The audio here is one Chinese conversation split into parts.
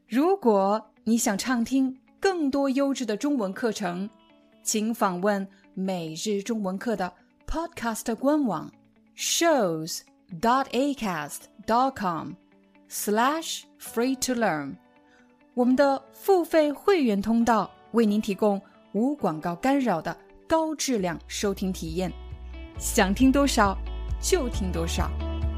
如果你想畅听更多优质的中文课程，请访问每日中文课的 Podcast 官网 shows.acast.com/free-to-learn。我们的付费会员通道为您提供无广告干扰的高质量收听体验，想听多少就听多少。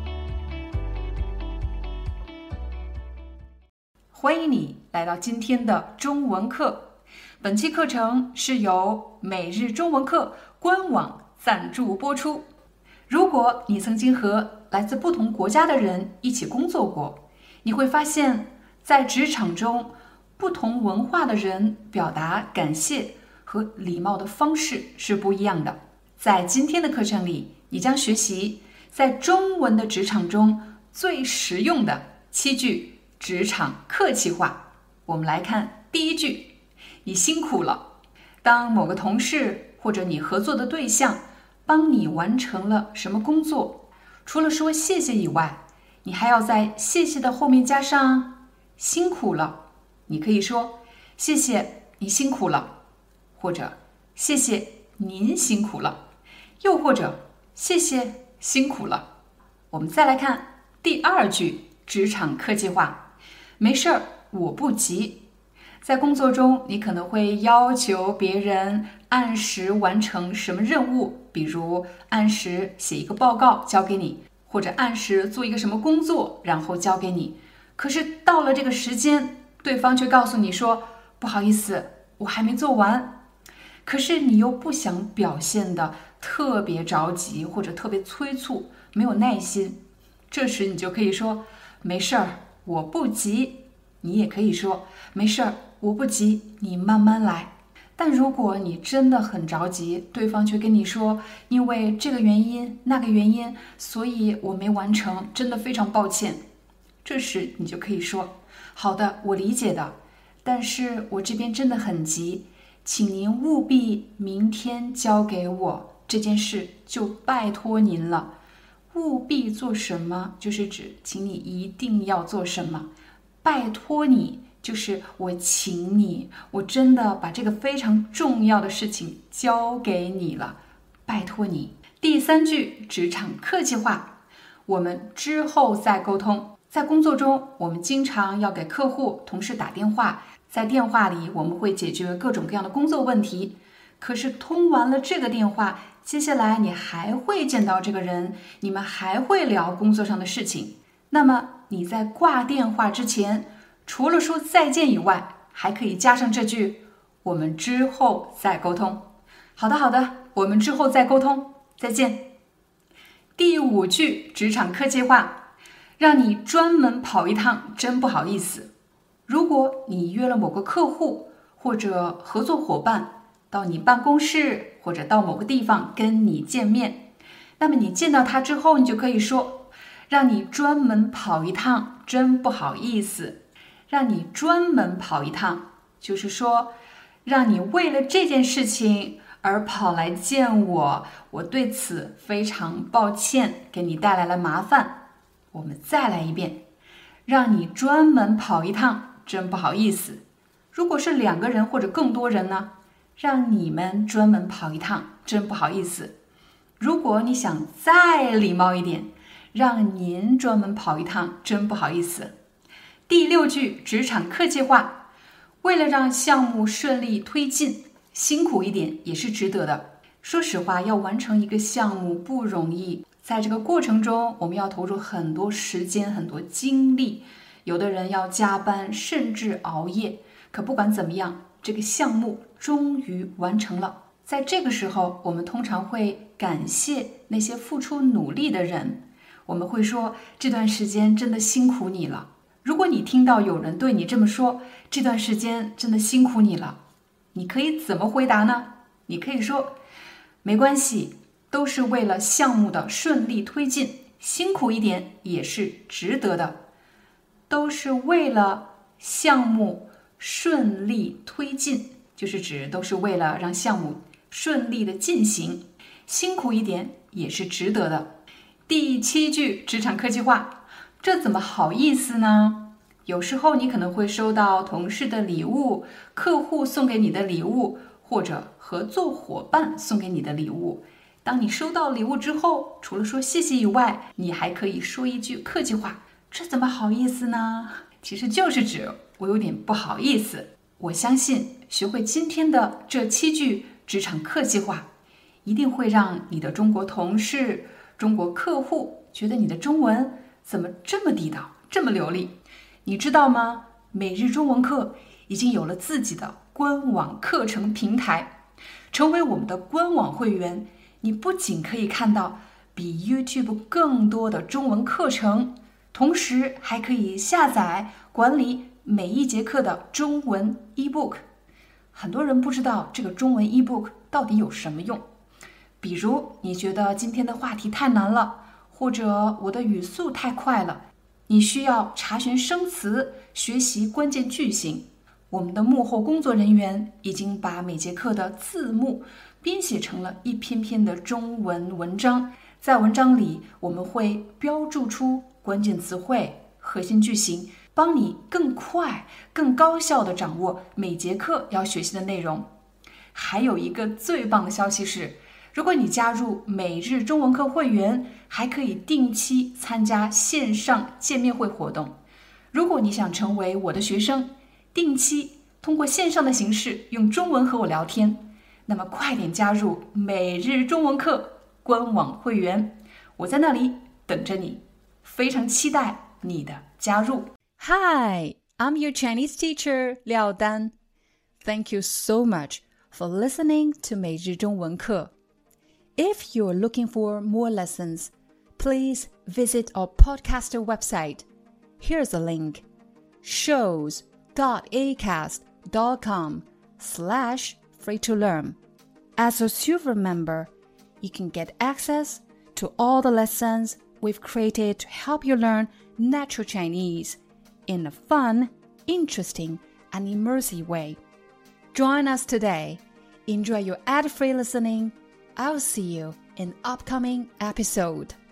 欢迎你来到今天的中文课。本期课程是由每日中文课官网赞助播出。如果你曾经和来自不同国家的人一起工作过，你会发现在职场中，不同文化的人表达感谢和礼貌的方式是不一样的。在今天的课程里，你将学习在中文的职场中最实用的7句职场客气话。我们来看第一句，你辛苦了。当某个同事或者你合作的对象帮你完成了什么工作，除了说谢谢以外，你还要在谢谢的后面加上辛苦了。你可以说谢谢你辛苦了，或者谢谢您辛苦了，又或者谢谢辛苦了。我们再来看第2句职场客气话，没事儿，我不急。在工作中，你可能会要求别人按时完成什么任务，比如按时写一个报告交给你，或者按时做一个什么工作然后交给你。可是到了这个时间，对方却告诉你说，不好意思，我还没做完。可是你又不想表现得特别着急或者特别催促，没有耐心。这时你就可以说，没事儿，我不急。你也可以说，没事儿，我不急，你慢慢来。但如果你真的很着急，对方却跟你说，因为这个原因那个原因，所以我没完成，真的非常抱歉。这时你就可以说，好的，我理解的，但是我这边真的很急，请您务必明天交给我，这件事就拜托您了。务必做什么，就是指请你一定要做什么。拜托你，就是我请你，我真的把这个非常重要的事情交给你了，拜托你。第3句职场客气话，我们之后再沟通。在工作中，我们经常要给客户、同事打电话，在电话里我们会解决各种各样的工作问题。可是通完了这个电话，接下来你还会见到这个人，你们还会聊工作上的事情。那么你在挂电话之前，除了说再见以外，还可以加上这句，我们之后再沟通。好的，我们之后再沟通，再见。第5句职场客气话，让你专门跑一趟，真不好意思。如果你约了某个客户或者合作伙伴到你办公室或者到某个地方跟你见面，那么你见到他之后，你就可以说，让你专门跑一趟，真不好意思。让你专门跑一趟，就是说，让你为了这件事情而跑来见我，我对此非常抱歉，给你带来了麻烦。我们再来一遍，让你专门跑一趟，真不好意思。如果是2个人或者更多人呢，让你们专门跑一趟，真不好意思。如果你想再礼貌一点，让您专门跑一趟，真不好意思。第6句职场客气话，为了让项目顺利推进，辛苦一点也是值得的。说实话，要完成一个项目不容易，在这个过程中，我们要投入很多时间、很多精力，有的人要加班，甚至熬夜。可不管怎么样，这个项目终于完成了。在这个时候，我们通常会感谢那些付出努力的人，我们会说，这段时间真的辛苦你了。如果你听到有人对你这么说，这段时间真的辛苦你了，你可以怎么回答呢？你可以说，没关系，都是为了项目的顺利推进，辛苦一点也是值得的。都是为了项目顺利推进，就是指都是为了让项目顺利的进行，辛苦一点也是值得的。第7句职场客气话，这怎么好意思呢？ 有时候你可能会收到同事的礼物、客户送给你的礼物，或者合作伙伴送给你的礼物。当你收到礼物之后，除了说谢谢以外，你还可以说一句客气话，这怎么好意思呢？其实就是指我有点不好意思。我相信学会今天的这7句职场客气话，一定会让你的中国同事、中国客户觉得你的中文怎么这么地道，这么流利。你知道吗？每日中文课已经有了自己的官网课程平台。成为我们的官网会员，你不仅可以看到比 YouTube 更多的中文课程，同时还可以下载管理每一节课的中文 ebook。 很多人不知道这个中文 ebook 到底有什么用，比如你觉得今天的话题太难了，或者我的语速太快了，你需要查询生词，学习关键句型。我们的幕后工作人员已经把每节课的字幕编写成了一篇篇的中文文章，在文章里我们会标注出关键词汇、核心句型，帮你更快、更高效地掌握每节课要学习的内容。还有一个最棒的消息是，如果你加入每日中文课会员，还可以定期参加线上见面会活动。如果你想成为我的学生，定期通过线上的形式用中文和我聊天，那么快点加入每日中文课官网会员，我在那里等着你，非常期待你的加入。 Hi, I'm your Chinese teacher, Liao Dan. Thank you so much for listening to 每日中文课. If you're looking for more lessons, please visit our podcaster website. Here's a link: shows.acast.com/free-to-learn. As a silver member, you can get access to all the lessons we've created to help you learn natural Chinese in a fun, interesting, and immersive way. Join us today. Enjoy your ad-free listening. I'll see you in upcoming episode.